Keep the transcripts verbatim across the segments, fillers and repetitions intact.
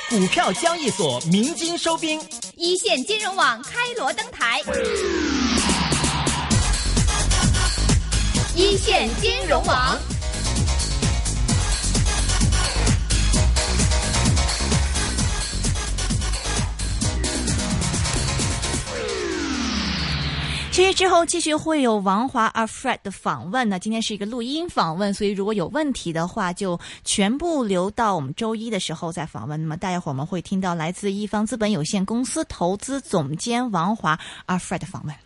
股票交易所鸣金收兵， 一线金融网开锣登台，一线金融网。 其实之后继续会有王華阿 Fred 的訪問呢，今天是一個錄音訪問，所以如果有問題的話就全部留到我們周一的時候再訪問。那麼大家伙我們會聽到來自一方資本有限公司投資總監王華阿 Fred 的訪問。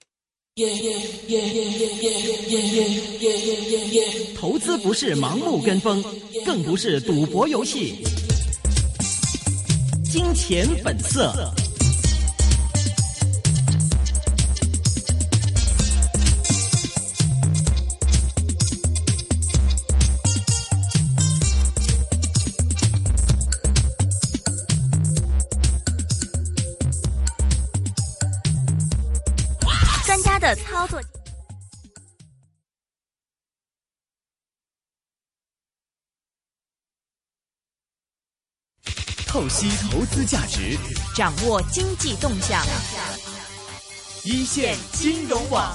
投資不是盲目跟風，更不是賭博遊戲，金錢本色。 的操作， 透析投資價值， 掌握經濟動向， 一線金融網。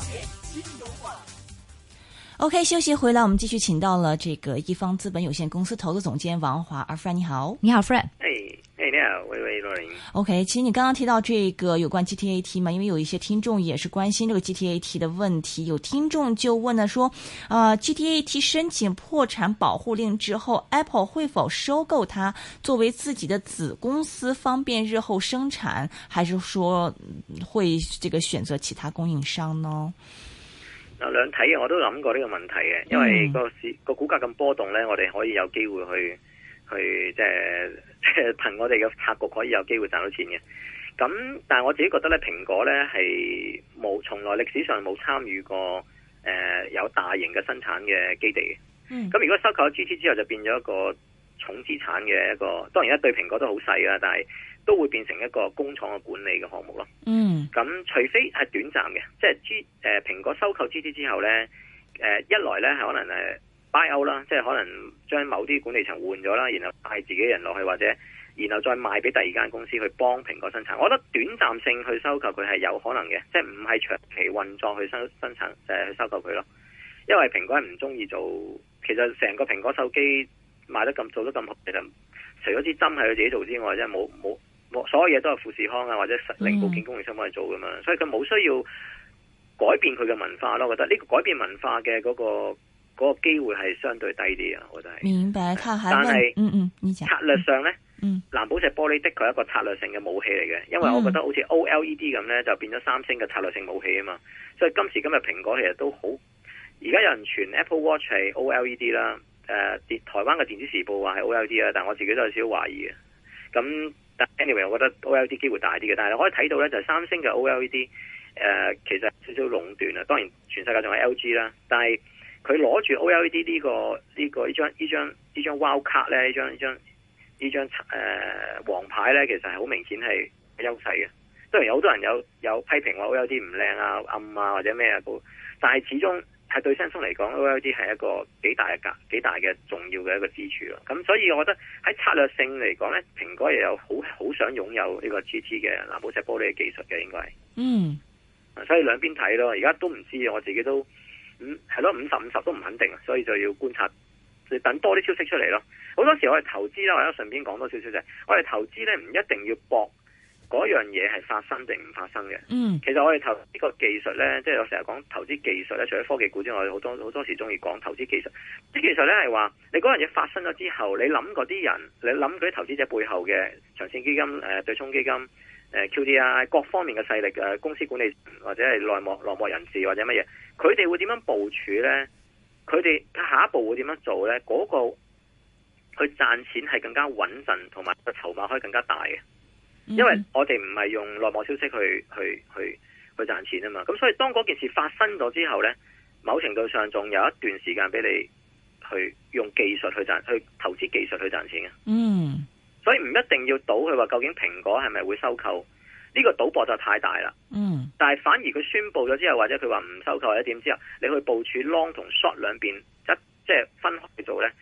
OK， 休息回來，我們繼續請到了這個一方資本有限公司投資總監王華阿 Fred， 你好，你好 Fred。 Hey, hey, 你好，喂喂，羅琳。 OK， 其實你剛剛提到這個有關 G T A T 嘛，因為有一些聽眾也是關心這個 G T A T 的問題，有聽眾就問了說，啊、呃、，G T A T 申請破產保護令之後 ，Apple 會否收購它作為自己的子公司，方便日後生產，還是說會這個選擇其他供應商呢？ 嗱，兩睇嘅我都諗過呢個問題嘅，因為個市個股價咁波動咧，我哋可以有機會去去即係即係憑我哋嘅策略可以有機會賺到錢嘅。咁但係我自己覺得咧，蘋果咧係冇從來歷史上冇參與過誒、呃、有大型嘅生產嘅基地嘅。咁、嗯、如果收購咗 G T 之後，就變咗一個重資產嘅一個，當然一對蘋果都好細啦，但係都會變成一個工廠嘅管理嘅項目咯。嗯，咁除非係短暫嘅，即係 G 誒蘋果收購 G T 之後咧，誒、呃、一來咧係可能誒 buy out 啦，即係可能將某啲管理層換咗啦，然後帶自己人落去，或者然後再賣俾第二間公司去幫蘋果生產。我覺得短暫性去收購佢係有可能嘅，即係唔係長期運作去生生產誒去收購佢咯。因為蘋果係唔中意做，其實成個蘋果手機賣得咁做得咁好，其實除咗支針係佢自己做之外，即係冇冇。所有嘢都係富士康啊，或者零部件供應商幫佢做噶嘛，嗯、所以佢冇需要改變佢嘅文化咯。我覺得呢個改變文化嘅嗰、嗰個嗰、嗰個機會係相對低啲啊。我覺得係。明白，他還問，但係嗯嗯，你講策略上咧，嗯，藍寶石玻璃的確係一個策略性嘅武器嚟嘅，因為我覺得好似 O L E D 咁咧，就變咗三星嘅策略性武器啊嘛。所以今時今日蘋果其實都好，而家有人傳 Apple Watch 係 O L E D 啦，誒、呃，台灣嘅電子時報話係 O L E D 啦，但係我自己都有少少懷疑嘅。咁但 anyway， 我覺得 O L E D 機會大啲嘅，但係你可以睇到咧，就係三星嘅 O L E D，誒、呃，其實少少壟斷啊。當然，全世界仲係 L G 啦，但係佢攞住 O L E D 呢、這個呢、這個呢張呢張呢張 Wild 卡咧，呢張呢張呢張誒黃牌咧，其實係好明顯係優勢嘅。當然有好多人有有批評話 O L E D 唔靚啊、暗啊或者咩啊，但係始終係對 Samsung 嚟講 O L E D 係一個幾大嘅價、幾大嘅重要嘅一個支柱咯。咁所以我覺得喺策略性嚟講咧，蘋果亦有好好想擁有呢個 G T 嘅藍寶石玻璃嘅技術嘅，應該係。嗯。所以兩邊睇咯，而家都唔知，我自己都嗯係咯，五十五十都唔肯定，所以就要觀察，就等多啲消息出嚟咯。好多時我哋投資啦，或者順便講多少少就係，我哋投資咧唔一定要搏嗰樣嘢係發生定唔發生嘅。嗯，其實我哋投呢個技術咧，即係我成日講投資技術咧，除咗科技股之外，好多好多時中意講投資技術。啲技術咧係話，你嗰樣嘢發生咗之後，你諗嗰啲人，你諗嗰啲投資者背後嘅長線基金、誒、呃、對沖基金、誒、呃、Q D I 各方面嘅勢力、誒、呃、公司管理或者係內幕內幕人士或者乜嘢，佢哋會點樣部署咧？佢哋下一步會點樣做咧？嗰、嗰個去賺錢係更加穩陣，同埋個籌碼可以更加大嘅。因為我哋唔係用內幕消息去去去去賺錢啊嘛，咁所以當嗰件事發生咗之後呢，某程度上仲有一段時間俾你去用技術去賺，去投資技術去賺錢嘅。嗯，所以唔一定要賭佢話究竟蘋果係咪會收購，呢個賭博就太大啦。嗯，但係反而佢宣布咗之後，或者佢話唔收購或者點之後，你去部署 long 同 short 兩邊一即係分開去做呢，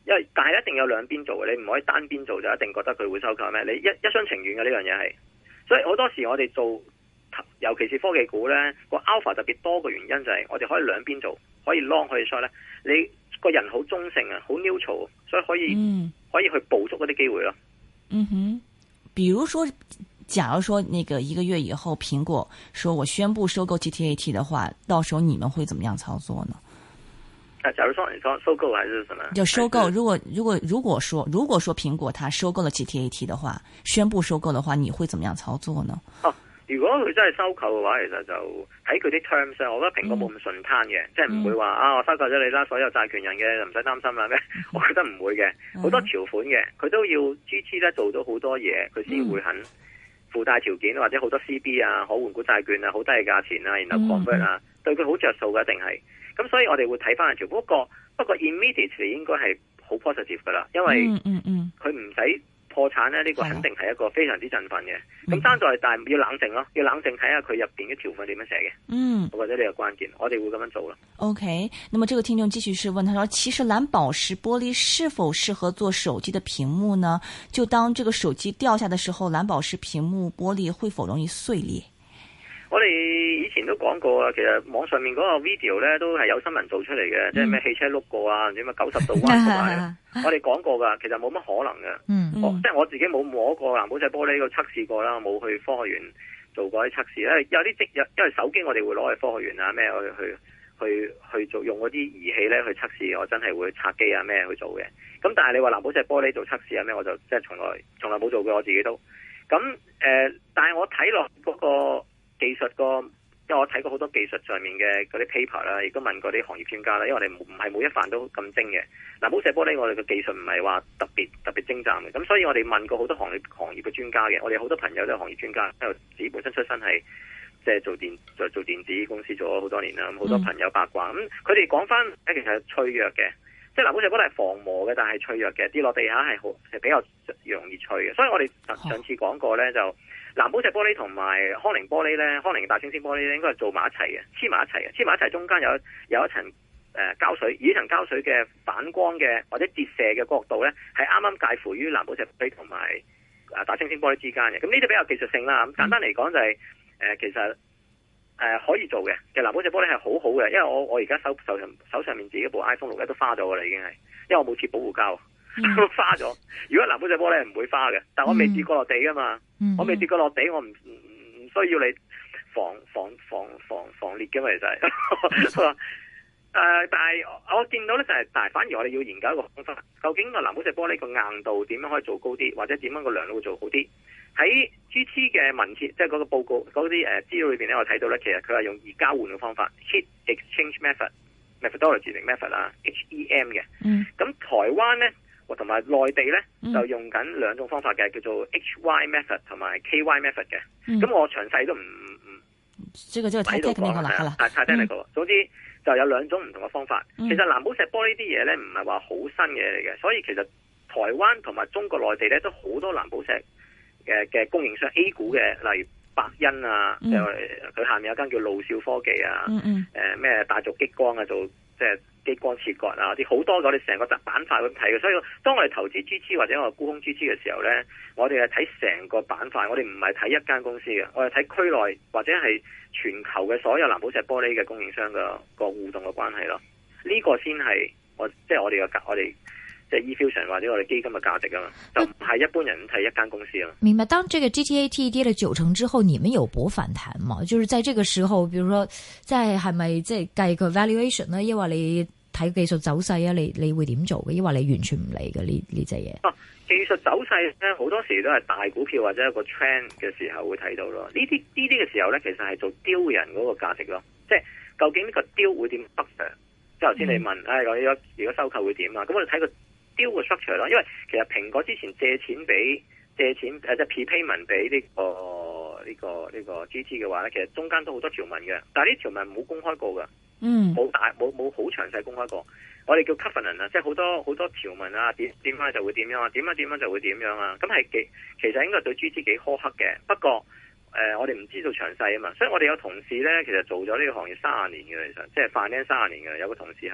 因為但係一定有兩邊做嘅，你唔可以單邊做就一定覺得佢會收購咩？你一一廂情願嘅呢樣嘢係，所以好多時我哋做，尤其是科技股呢，個 alpha 特別多嘅原因就係我哋可以兩邊做，可以 long 可以 short 呢，你個人好中性啊，好 neutral， 所以可以、嗯、可以去捕捉嗰啲機會咯。 嗯哼，比如說，假如說那個一個月以後，蘋果說我宣布收購 G T A T 的話，到時候你們會怎麼樣操作呢？ 啊，假如說你說收購還是什麼？ 就收購。如果如果如果說如果說蘋果它收購了 G T A T 的話，宣布收購的話，你會怎麼樣操作呢？ 哦，如果佢真係收購嘅話，其實就睇佢啲 terms， 我覺得蘋果冇咁順攤嘅，嗯、即係唔會話啊，我收購咗你啦，所有債權人嘅就唔使擔心啦咩？嗯、我覺得唔會嘅，好、嗯、多條款嘅，佢都要 G T 咧做到好多嘢，佢先會肯附帶條件，或者好多 C B 啊、可換股債券啊、好低嘅價錢啊，然後 convert 啊，嗯、對佢好着數嘅一定係。咁所以我哋會睇翻條，不過不過 immediately 應該係好 positive 噶啦，因為佢唔使破產咧，呢、這個肯定係一個非常之振奮嘅。咁爭在但係要冷靜咯，要冷靜睇下佢入邊嘅條款點樣寫嘅。嗯，我覺得呢個關鍵，我哋會咁樣做咯。 OK，那麼這個聽眾繼續是問他說，其實藍寶石玻璃是否適合做手機的屏幕呢？就當這個手機掉下的時候，藍寶石屏幕玻璃會否容易碎裂？ 我哋以前都講過啊，其實網上面嗰個 video 咧都係有新聞做出嚟嘅，嗯、即係咩汽車碌過啊，唔知咩九十度彎過嚟，我哋講過噶，其實冇乜可能嘅。嗯嗯、即係我自己冇摸過藍寶石玻璃個測試過啦，冇去科學園做過啲測試。因為有啲即因為手機我哋會攞去科學園啊咩去去去去做用嗰啲儀器咧去測試，我真係會拆機啊咩去做嘅。咁但係你話藍寶石玻璃做測試啊咩，我就即係從來從來冇做過，我自己都。咁誒、呃，但係我睇落嗰個。技術個，因為我睇過好多技術上面嘅嗰啲 paper 啦，亦都問過啲行業專家啦。因為我哋唔係每一範都咁精嘅。藍寶石玻璃我哋嘅技術唔係話特別特別精湛嘅，咁所以我哋問過好多行業行業嘅專家嘅。我哋好多朋友都係行業專家，因為自己本身出身係即係做電做做電子公司做咗好多年啦。咁好多朋友八卦，咁佢哋講翻其實係脆弱嘅，即係藍寶石玻璃係防磨嘅，但係脆弱嘅，跌落地下係好係比較容易脆嘅。所以我哋上次講過咧就。藍寶石玻璃同埋康寧玻璃咧，康寧大猩猩玻璃咧，應該係做埋一齊嘅，黐埋一齊嘅，黐埋一齊中間有有一層誒、呃、膠水，而呢層膠水嘅反光嘅或者折射嘅角度咧，係啱啱介乎於藍寶石玻璃同埋誒大猩猩玻璃之間嘅。咁呢啲比較技術性啦。咁簡單嚟講就係、是、誒、呃、其實誒、呃、可以做嘅。其實藍寶石玻璃係好好嘅，因為我我而家手手上手上面自己部 iPhone 六咧都花咗噶啦，已經係，因為我冇貼保護膠。嗯、花咗，如果藍寶石玻璃係唔會花嘅，但我未跌過落地噶嘛，嗯、我未跌過落地，我唔唔唔需要你防防防防防裂嘅嘛，其實係，誒、呃，但係我見到咧就係、是，但係反而我哋要研究一個方法，究竟個藍寶石玻璃個硬度點樣可以做高啲，或者點樣個良率會做好啲？喺 G T 嘅文件，即係嗰個報告嗰啲誒資料裏邊咧，我睇到咧，其實佢係用熱交換嘅方法 ，heat exchange method，methodology 定 method 啦 ，H E M 嘅，咁、嗯、台灣咧。同埋內地咧就用緊兩種方法嘅，叫做 H Y method 同埋 K Y method 嘅。咁、嗯、我詳細都唔唔，這個這個太 technical 啦，係啦，太 technical。嗯、總之就有兩種唔同嘅方法。嗯、其實藍寶石玻璃啲嘢咧唔係話好新嘢嚟嘅，所以其實台灣同埋中國內地咧都好多藍寶石嘅嘅供應商 A 股嘅，例如百欣啊，佢、嗯、下面有間叫路笑科技啊，誒咩、嗯嗯呃、大族激光啊，做即係。激光切割啊，啲好多我哋成個板塊咁睇嘅，所以當我哋投資 G T 或者我哋沽空 G T 嘅時候呢，我哋係睇成個板塊，我哋唔係睇一間公司嘅，我哋睇區內或者係全球嘅所有藍寶石玻璃嘅供應商嘅個互動嘅關係咯。呢、這個先係我即係我哋嘅我哋即係 eFusion 或者我哋基金嘅價值啊嘛，就唔係一般人睇一間公司啊。 明白。當這個 G T A T 跌了九成之後，你們有博反彈嗎？就是在這個時候，比如說即係係咪即係計個 valuation 呢？因為你睇技術走勢啊，你你會點做嘅？因為你完全唔理嘅呢呢隻嘢。 啊，技術走勢咧好多時都係大股票或者一個 trend 嘅時候會睇到咯。呢啲呢啲嘅時候咧，其實係做雕人嗰個價值咯。即係究竟呢個雕會點北上？即係頭先你問，唉、嗯，我如果如果收購會點啊？咁我哋睇個雕嘅 structure 咯。因為其實蘋果之前借錢俾借錢誒即係 prepayment 俾呢個呢個呢個 G T 嘅話咧，其實中間都好多條文嘅，但係呢條文冇公開過噶。嗯，冇大冇冇好詳細公開過，我哋叫 covenant 啊，即係好多好多條文啊，點點樣就會點樣啊，點樣點樣就會點樣啊，咁係幾其實應該對 G T 幾苛刻嘅，不過誒、呃、我哋唔知道詳細啊嘛，所以我哋有同事咧，其實做咗呢個行業三十年嘅，其實即係 finance 三十年嘅，有個同事係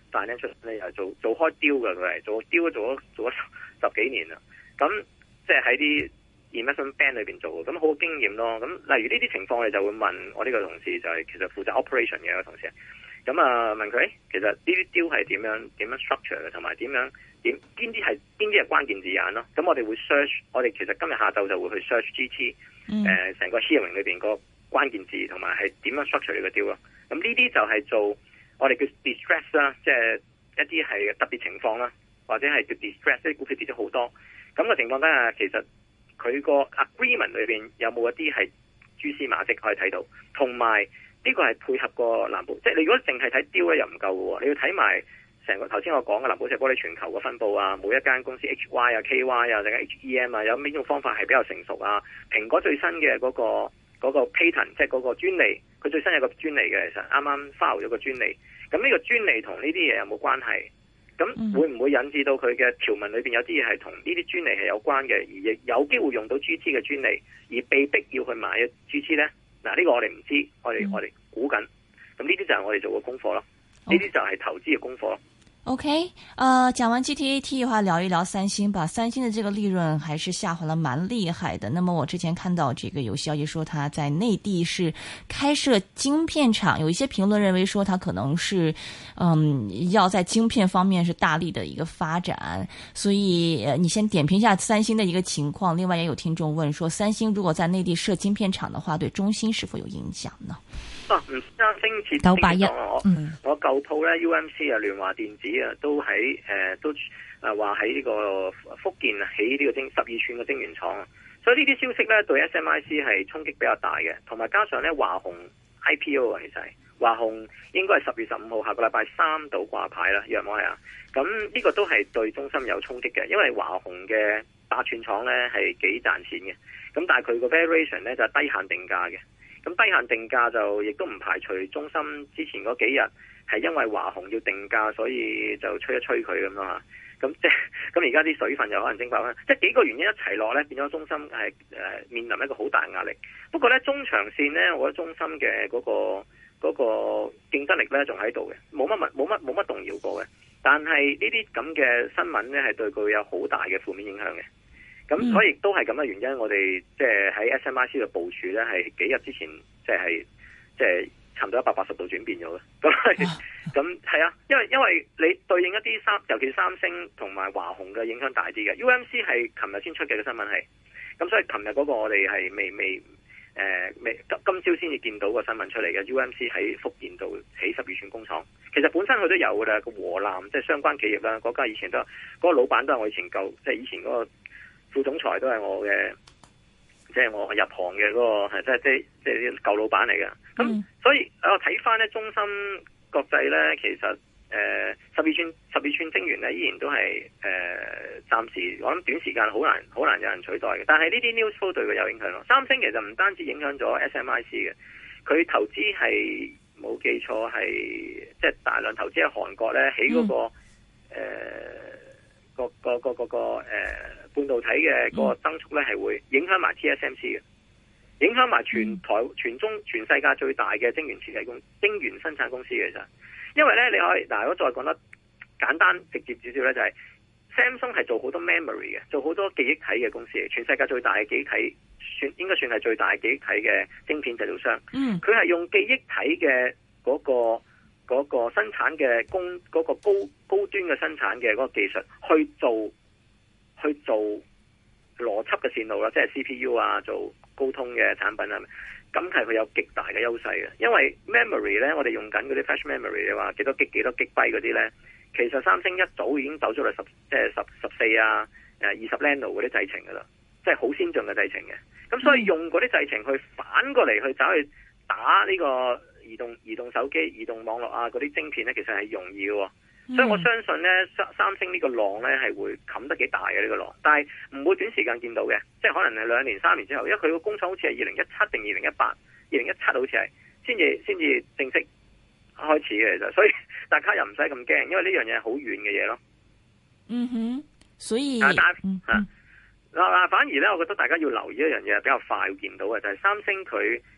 financial 咧又做做開雕嘅，佢係做雕做咗做咗十幾年啦。咁即係喺啲 investment bank 裏邊做嘅，咁好經驗咯。咁例如呢啲情況，我哋就會問我呢個同事，就係、是、其實負責 operation 嘅一個同事。咁啊問佢，其實呢啲雕係點樣點樣 structure 嘅，同埋點樣點邊啲係邊啲係關鍵字眼咯。咁我哋會 search， 我哋其實今日下晝就會去 search G T， 誒成、嗯、個 hearing 裏邊個關鍵字同埋係點樣 structure 呢個雕咯。咁呢啲就係做我哋叫 distress 啦，即係一啲係特別情況啦，或者係叫 distress， 啲股票跌咗好多。咁嘅情況底下，其實佢個 agreement 裏邊有冇一啲係蛛絲馬跡可以睇到，同埋呢個係配合個藍寶，即係你如果淨係睇雕咧又唔夠嘅喎，你要睇埋成個頭先我講嘅藍寶石玻璃全球嘅分佈啊，每一間公司 H Y 啊、K Y 啊，定係 H E M 啊，有邊種方法係比較成熟啊？蘋果最新嘅嗰個嗰個 patent， 即係嗰個專利，佢最新有個專利嘅，其實啱啱 file 咗個專利。咁呢個專利同呢啲嘢有冇關係？咁會唔會引致到佢嘅條文裏邊有啲嘢係同呢啲專利係有關嘅，而亦有機會用到 G T 嘅專利，而被逼要去買 G T 呢？嗱，呢個我哋唔知，我哋、嗯、我哋估緊。咁呢啲就係我哋做嘅功課咯，呢啲就係投資嘅功課咯。 OK， 呃，講完 G T A T 的話，聊一聊三星吧。三星的這個利潤還是下滑了蠻厲害的。那麼我之前看到這個有消息說，它在內地是開設晶片廠，有一些評論認為說，它可能是，嗯，要在晶片方面是大力的一個發展。所以，呃，你先點評一下三星的一個情況。另外，也有聽眾問說，三星如果在內地設晶片廠的話，對中芯是否有影響呢？ 啊，唔三星設九八一， 我、嗯、我舊鋪咧 U M C 啊，聯華電子啊，都喺誒、呃、都誒話喺呢個福建起呢個晶十二寸嘅晶圓廠啊，所以呢啲消息咧對 S M I C 係衝擊比較大嘅，同埋加上咧華虹 I P O 啊，其實係華虹應該係十月十五號下個禮拜三度掛牌啦，約莫係啊，咁呢個都係對中芯有衝擊嘅，因為華虹嘅八寸廠咧係幾賺錢嘅，咁但係佢個 variation 咧就係低限定價嘅。咁低限定價就亦都唔排除中芯之前嗰幾日係因為華虹要定價，所以就吹一吹佢咁咯嚇。咁即係咁而家啲水分又可能蒸發啦。即係幾個原因一齊落咧，變咗中芯係誒面臨一個好大嘅壓力。不過咧中長線咧，我覺得中芯嘅嗰個嗰個競爭力咧仲喺度嘅，冇乜冇乜冇乜動搖過嘅。但係呢啲咁嘅新聞咧係對佢有好大嘅負面影響嘅。咁、嗯、所以都係咁嘅原因，我哋即係喺 S M I C 嘅部署咧，係幾日之前即係即係差唔多一百八十度轉變咗嘅。咁咁係啊，因為因為你對應一啲三，尤其三星同埋華虹嘅影響大啲嘅。U M C 係琴日先出嘅嘅新聞係，咁所以琴日嗰個我哋係未未誒未今今朝先至見到個新聞出嚟嘅。U M C 喺福建度起十二寸工廠，其實本身佢都有嘅啦。個和南即係、就是、相關企業啦，嗰家以前都嗰、那個老闆都係我以前舊即係以前嗰、那個。副總裁都係我嘅，即係我入行嘅嗰個係即係即係即係啲舊老闆嚟嘅。咁、嗯、所以我睇翻咧，中芯國際咧，其實誒十二寸十二寸晶圓咧，依然都係誒暫時我諗短時間好難好難有人取代嘅。但係呢啲 news flow 對佢有影響咯。三星其實唔單止影響咗 S M I C 嘅，佢投資係冇記錯係即係大量投資喺韓國咧，起嗰個誒。嗯呃個個個個個誒半導體嘅個增速咧係會影響埋 T S M C 嘅，影響埋全台全中全世界最大嘅晶圓設計公晶圓生產公司嘅。其實因為咧你可以嗱，如果再講得簡單直接少少咧，就係 Samsung 係做好多 memory 嘅，做好多記憶體嘅公司，全世界最大嘅記憶體算應該算係最大嘅記憶體嘅晶片製造商。嗯，佢係用記憶體嘅嗰個。嗰、那個生產嘅工嗰、那個高高端嘅生產嘅嗰個技術去做去做邏輯嘅線路啦，即係 C P U 啊，做高通嘅產品啊，咁係佢有極大嘅優勢嘅。因為 memory 咧，我哋用緊嗰啲 flash memory 嘅話，幾多 G 幾多 G byte 嗰啲咧，其實三星一早已經走咗嚟十即係十十四啊誒二十 nano 嗰啲製程噶啦，即係好先進嘅製程嘅。咁所以用嗰啲製程去反過嚟去走去打呢、這個。移動移動手機、移動網絡啊，嗰啲晶片咧，其實係容易嘅、嗯，所以我相信咧，三三星呢個浪咧係會冚得幾大嘅呢、這個浪，但係唔會短時間見到嘅，即係可能係兩年、三年之後，因為佢個工廠好似係二零一七定二零一八、二零一七好似係先至先至正式開始嘅，其實，所以大家又唔使咁驚，因為呢樣嘢係好遠嘅嘢咯。 嗯哼，所以但係嗯嗱嗱，反而咧，我覺得大家要留意一樣嘢比較快會見到嘅，就係、是、三星佢。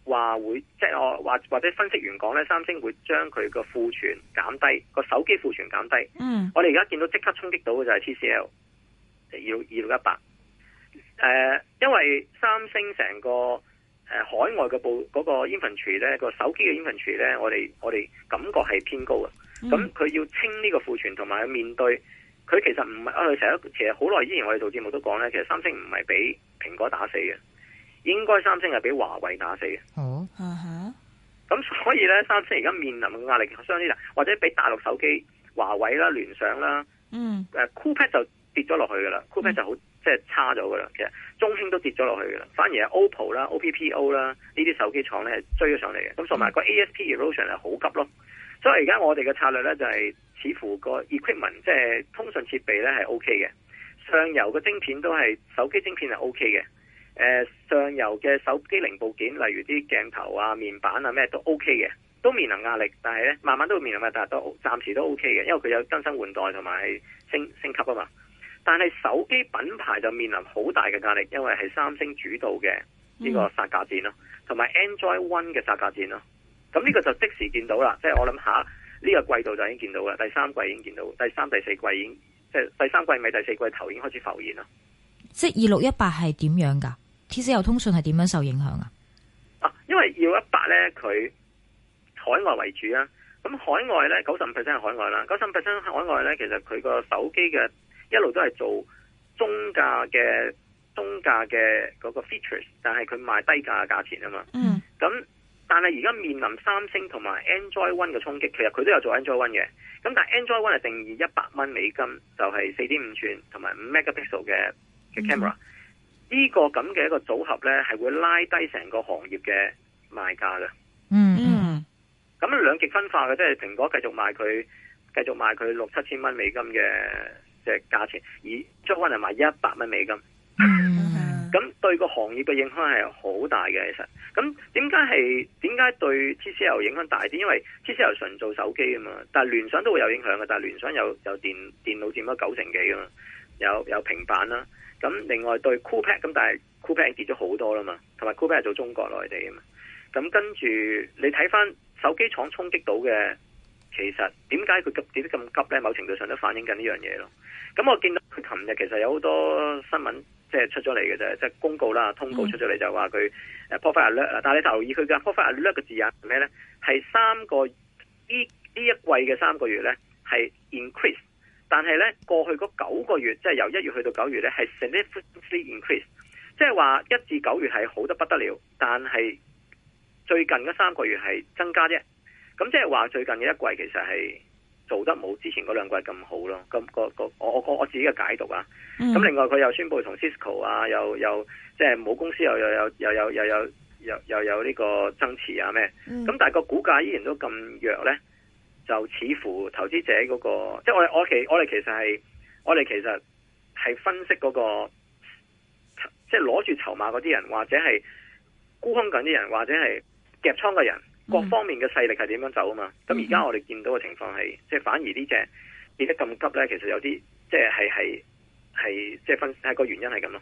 話會即係我或或者分析員講咧，三星會將佢個庫存減低，個手機庫存減低。 嗯， 我哋而家見到即刻衝擊到嘅就係 T C L 二六二六一八。誒，因為三星成個誒、呃、海外嘅部嗰個 inventory 咧，個手機嘅 inventory 咧，我哋我哋感覺係偏高嘅。咁佢、嗯、要清呢個庫存，同埋面對佢其實唔係啊，佢成日其實好耐之前我哋做節目都講咧，其實三星唔係俾蘋果打死嘅。應該三星係俾華為打死嘅。 哦， 咁所以咧，三星而家面臨嘅壓力相當之大，或者俾大陸手機、華為啦、聯想啦， 嗯， 誒、呃、Coolpad 就跌咗落去噶啦 ，Coolpad 就好即係差咗噶啦。其實中興都跌咗落去噶啦，反而係 O P P O 啦、O P P O 啦呢啲手機廠咧係追咗上嚟嘅。咁同埋個 A S P erosion 係好急咯。所以而家我哋嘅策略咧就係、是、似乎個 equipment 即係通訊設備咧係 O K 嘅，上游嘅晶片都係手機晶片係 O K 嘅。誒、呃，上游嘅手機零部件，例如啲鏡頭啊、面板啊咩都 OK 嘅，都面臨壓力，但係咧慢慢都會面臨壓力，但係都暫時都 OK 嘅，因為佢有更新換代同埋升升級啊嘛。但係手機品牌就面臨好大嘅壓力，因為係三星主導嘅呢個殺價戰咯，同埋 Android One 嘅殺價戰咯。咁呢個就即時見到啦，即係我諗下呢個季度就已經見到啦，第三季已經見到，第三、第四季已經即係第三季尾、第四季頭已經開始浮現啦。 即係二六一八係點樣噶 ？T C L 通訊係點樣受影響啊？ 啊，因為二六一八咧，佢海外為主啊。咁海外咧，九十五 percent 係海外啦。九十五 percent 海外咧，其實佢個手機嘅一路都係做中價嘅中價嘅嗰個 features， 但係佢賣低價嘅價錢啊嘛。嗯。咁但係而家面臨三星同埋 Android One 嘅衝擊，其實佢都有做 Android One 嘅。咁但係 Android One 係定義一百蚊美金，就係四點五寸同埋五 megapixel 嘅嘅 camera。呢、嗯、個咁嘅一個組合咧，係會拉低成個行業嘅賣價嘅。 嗯嗯。 咁兩極分化嘅，即係蘋果繼續賣佢，繼續賣佢六七千蚊美金嘅嘅價錢，而 Android One 係賣一百蚊美金。 嗯。 咁對個行業嘅影響係好大嘅，其實。咁點解係點解對 T C L 影響大啲？因為 T C L 純做手機啊嘛，但係聯想都會有影響嘅。但係聯想有有電電腦佔咗九成幾啊嘛，有有平板啦。咁另外對 Coolpad 咁，但係 Coolpad 跌咗好多啦嘛，同埋 Coolpad 係做中國內地啊嘛。咁跟住你睇翻手機廠衝擊到嘅，其實點解佢急跌得咁急咧？某程度上都反映緊呢樣嘢咯。咁我見到佢琴日其實有好多新聞。即係出咗嚟嘅啫，即係公告啦，通告出咗嚟就話佢誒 profit alert 啦。但係你留意佢嘅 profit alert 嘅字眼係咩咧？係三個呢呢一季嘅三個月咧係 increase， 但係咧過去嗰九個月，即係由一月去到九月咧係 significantly increase， 即係話一至九月係好得不得了，但係最近嗰三個月係增加啫。咁即係話最近嘅一季其實係做得冇之前嗰兩季咁好咯，咁、那個個我我我自己嘅解讀啊。咁、嗯、另外佢又宣布同 Cisco 啊，又又即係母公司又又有又有又有又又有呢個增持啊咩？咁、嗯、但係個股價依然都咁弱咧，就似乎投資者嗰、那個即係我我其我哋其實係我哋其實係分析嗰、那個即係攞住籌碼嗰啲人，或者係沽空緊啲人，或者係夾倉嘅人。各方面嘅勢力係點樣走啊嘛？咁而家我哋見到嘅情況係，即係反而呢隻跌得咁急咧，其實有啲即係係係係即係分係個原因係咁咯。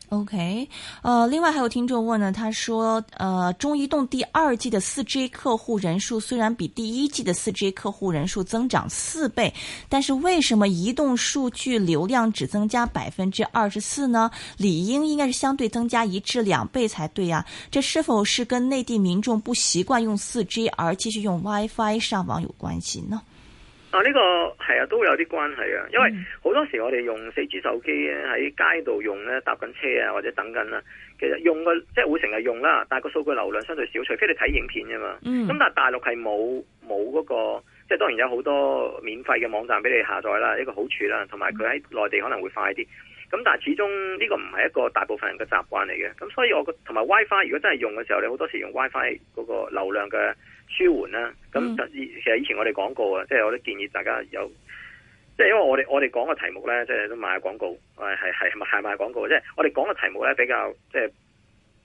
OK，呃，另外還有聽眾問呢，他說，呃，中移動第二季的四 G 客戶人數雖然比第一季的四 G 客戶人數增長四倍，但是為什麼移動數據流量只增加百分之二十四呢？理應應該是相對增加一至兩倍才對啊！這是否是跟內地民眾不習慣用四 G 而繼續用 WiFi 上網有關係呢？ 啊，呢、這個係啊，都有啲關係啊，因為好多時我哋用四 G 手機咧喺街度用咧，搭緊車啊或者等緊啦，其實用個即係會成日用啦，但係個數據流量相對少，除非你睇影片啫嘛。咁、嗯、但係大陸係冇冇嗰個，即係當然有好多免費嘅網站俾你下載啦，一個好處啦，同埋佢喺內地可能會快啲。咁但係始終呢個唔係一個大部分人嘅習慣嚟嘅，咁所以我覺同埋 WiFi 如果真係用嘅時候，你好多時用 WiFi 嗰個流量嘅舒緩啦。咁、嗯、其實以前我哋講過啊，即係我都建議大家有，即係因為我哋我哋講嘅題目咧，即係都賣廣告，係係係賣廣告，即係我哋講嘅題目咧比較即係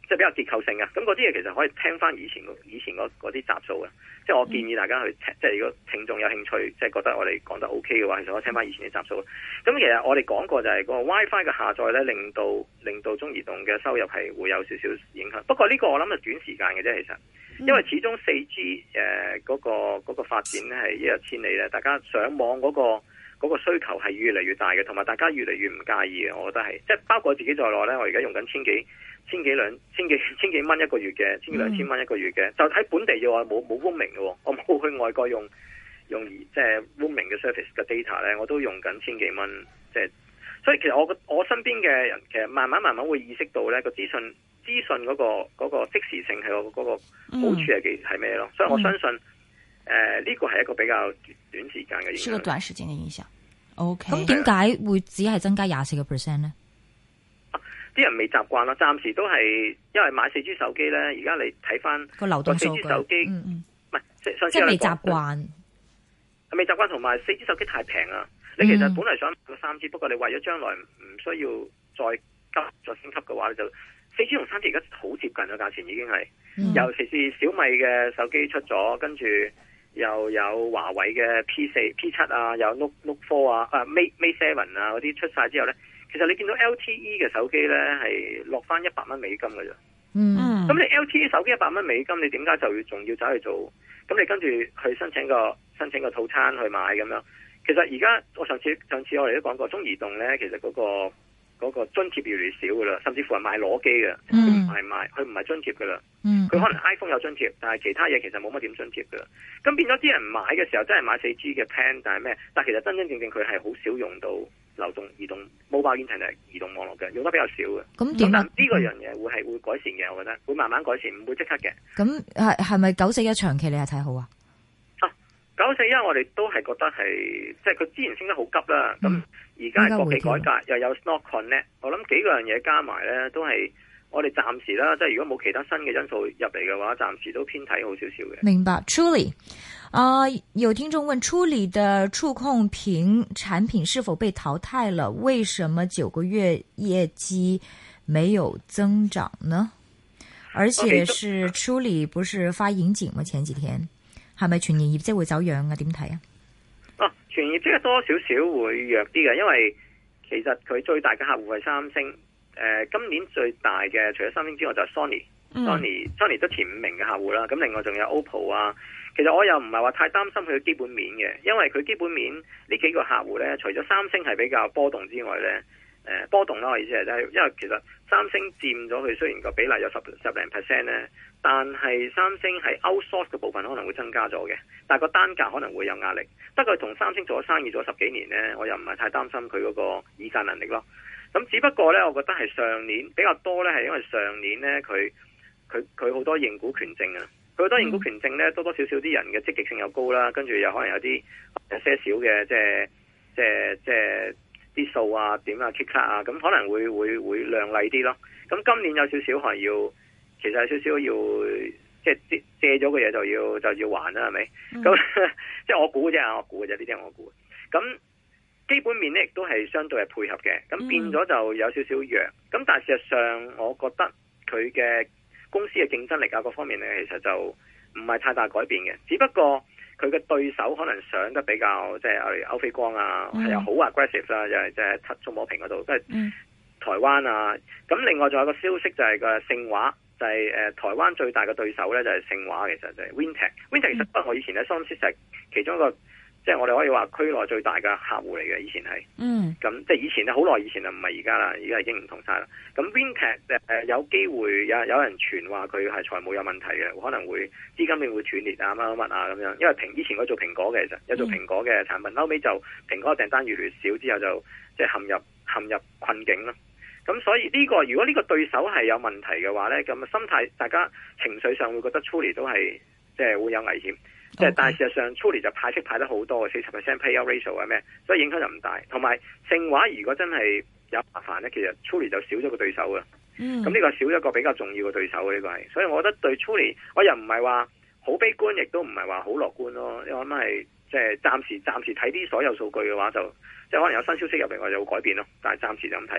即係比較結構性嘅。咁嗰啲嘢其實可以聽翻以前以前嗰啲集數嘅。即係我建議大家去聽，即係如果聽眾有興趣，即係覺得我哋講得 OK 嘅話，其實可以聽翻以前啲集數。咁其實我哋講過就係個 WiFi 嘅下載咧，令到令到中移動嘅收入係會有少少影響。不過呢個我諗係短時間嘅啫，其實，因為始終四 G 誒嗰個嗰個發展咧係一日千里咧，大家上網嗰個。嗰個需求係越嚟越大嘅，同埋大家越嚟越唔介意嘅，我覺得係，即係包括自己在內咧，我而家用緊千幾、千幾兩、千幾、千幾蚊一個月嘅，千幾兩千蚊一個月嘅，就喺本地嘅話冇冇 roaming 嘅，我冇去外國用用即係 roaming 嘅 service 嘅 data 咧，我都用緊千幾蚊，即係，所以其實我我身邊嘅人其實慢慢慢慢會意識到咧個資訊資訊嗰個嗰個即時性係嗰個好處係幾係咩咯，所以我相信。誒，呢、呃這個係一個比較短時間嘅影響， 是個短時間嘅影響。OK， 咁點解會只係增加廿四個 percent 咧？ 啲、啊、人未習慣啦，暫時都係因為買四 G 手機咧，而家你睇翻個流動數據， 手機嗯嗯， 唔係即係即係未習慣， 未習慣，同埋四 G 手機太平啦。你其實本嚟想買個三 G，、嗯、不過你為咗將來唔需要再急再升級嘅話，你就四 G 同三 G 而家好接近嘅價錢已經係，嗯、尤其是小米嘅手機出咗，跟住。又有華為嘅 P 四、P 七啊，有 Note Note Four 啊，啊 Mate Mate Seven 啊嗰啲出晒之後咧，其實你見到 L T E 嘅手機咧係落翻一百蚊美金嘅啫。嗯，咁你 L T E 手機一百蚊美金，你點解就要仲要走去做？咁你跟住去申請個申請個套餐去買咁樣。其實而家我上次上次我哋都講過，中移動咧其實嗰、嗰個。嗰個津貼越嚟越少噶啦，甚至乎係買攞機嘅，佢唔係買，佢唔係津貼噶啦。佢、嗯、可能 iPhone 有津貼，但係其他嘢其實冇乜點津貼噶。咁變咗啲人買嘅時候，真係買四 G 嘅 plan，但係咩？但係其實真真正正佢係好少用到流動移動 mobile internet 移動網絡嘅，用得比較少嘅。咁點啊？呢個樣嘢會係會改善嘅，我覺得會慢慢改善，唔會即刻嘅。 咁係係咪九四一長期你係睇好啊？ 九四一我哋都係覺得係，即係佢之前升得好急啦。咁而家係國企改革，又有 Snort Connect，我諗幾個樣嘢加埋咧，都係我哋暫時啦。即係如果冇其他新嘅因素入嚟嘅話，暫時都偏睇好少少嘅。 明白。Truly， 啊、呃，有聽眾問 Truly 的觸控屏產品是否被淘汰了？為什麼九個月業績沒有增長呢？而且是 Truly 不是發盈警嗎？前幾天。係咪全年業績會走樣啊？點睇啊？ 哦，全年業績多少少會弱啲嘅，因為其實佢最大嘅客戶係三星。誒、呃，今年最大嘅除咗三星之外就係 Sony，Sony，Sony、嗯、都前五名嘅客戶啦。咁另外仲有 O P P O 啊。其實我又唔係話太擔心佢嘅基本面嘅，因為佢基本面呢幾個客戶咧，除咗三星係比較波動之外咧，誒、呃、波動啦，我意思係，因為其實三星佔咗佢雖然個比例有十十零 percent 咧。但係三星係 outsource 嘅部分可能會增加咗嘅，但係個單價可能會有壓力。不過同三星做咗生意做咗十幾年呢，我又唔係太擔心佢嗰個議價能力咯。咁只不過呢，我覺得係上年比較多呢，係因為上年呢，佢佢佢好多認股權證啊，佢好多認股權證呢，多多少少啲人嘅積極性又高啦，跟住又可能有啲有些少嘅即係即係即係啲數啊點啊 kick 卡啊，咁可能會會會亮麗啲咯。咁今年有少少係要。其實有少少要即係借借咗嘅嘢就要就要還啦，係咪？咁、嗯、即係我估嘅啫，我估嘅啫，呢啲係我估。咁基本面咧亦都係相對係配合嘅，咁變咗就有少少弱。咁但係事實上，我覺得佢嘅公司嘅競爭力啊各方面咧，其實就唔係太大改變嘅。只不過佢嘅對手可能上得比較即係例如歐菲光啊，係有好 aggressive 啦，就係即係觸摸屏嗰度，即係台灣啊。咁另外仲有個消息就係個盛華。就係、是、誒、呃、台灣最大嘅對手咧，就係盛華，其實就係 Wintec。Wintec 其實不過我以前喺 Somsys 其中一個，即係我哋可以話區內最大嘅客戶嚟嘅，以前係。嗯。咁即係以前咧，好耐以前啊，唔係而家啦，而家已經唔同晒啦。咁 Wintec 誒、呃、有機會有有人傳話佢係財務有問題嘅，可能會資金鏈會斷裂啊乜乜乜啊咁樣。因為蘋以前佢做蘋果嘅，其實有做蘋果嘅產品，後尾就蘋果嘅訂單越嚟越少，之後就即係陷入陷入困境咯。咁所以呢、這個如果呢個對手係有問題嘅話咧，咁心態大家情緒上會覺得 Truly 都係即係會有危險。即係 Okay. 但係事實上 Truly 就派息派得好多嘅，四十 percent payout ratio 係咩？所以影響就唔大。同埋盛華如果真係有麻煩咧，其實 Truly 就少咗個對手嘅。嗯。咁呢個少咗一個比較重要嘅對手嘅呢、這個係，所以我覺得對 Truly 我又唔係話好悲觀，亦都唔係話好樂觀咯。因為我諗係即係暫時暫時睇啲所有數據嘅話，就即係可能有新消息入嚟，我就會改變咯。但係暫時就咁睇咯。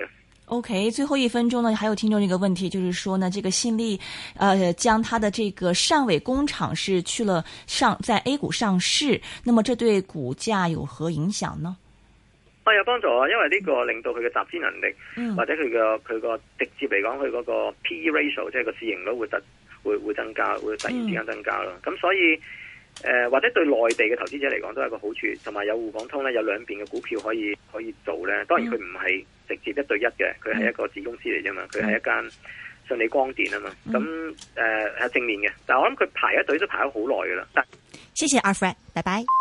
OK， 最後一分鐘呢，還有聽眾這個問題，就是說呢，這個信利，呃，將它的這個汕尾工廠是去了上在 A 股上市，那麼這對股價有何影響呢？ 啊，有幫助啊，因為呢個令到佢嘅集資能力，嗯、或者佢嘅佢個直接嚟講，佢嗰個 P E ratio， 即係個市盈率會特會會增加，會突然之間增加咯。咁、嗯、所以誒、呃，或者對內地嘅投資者嚟講都係一個好處，同埋有滬港通咧，有兩邊嘅股票可以可以做咧。當然佢唔係直接一對一嘅，佢係一個子公司嚟啫嘛，佢係一間信利光電啊嘛。咁誒係正面嘅，但係我諗佢排一隊都排咗好耐噶啦。 謝謝阿 Fred，拜拜。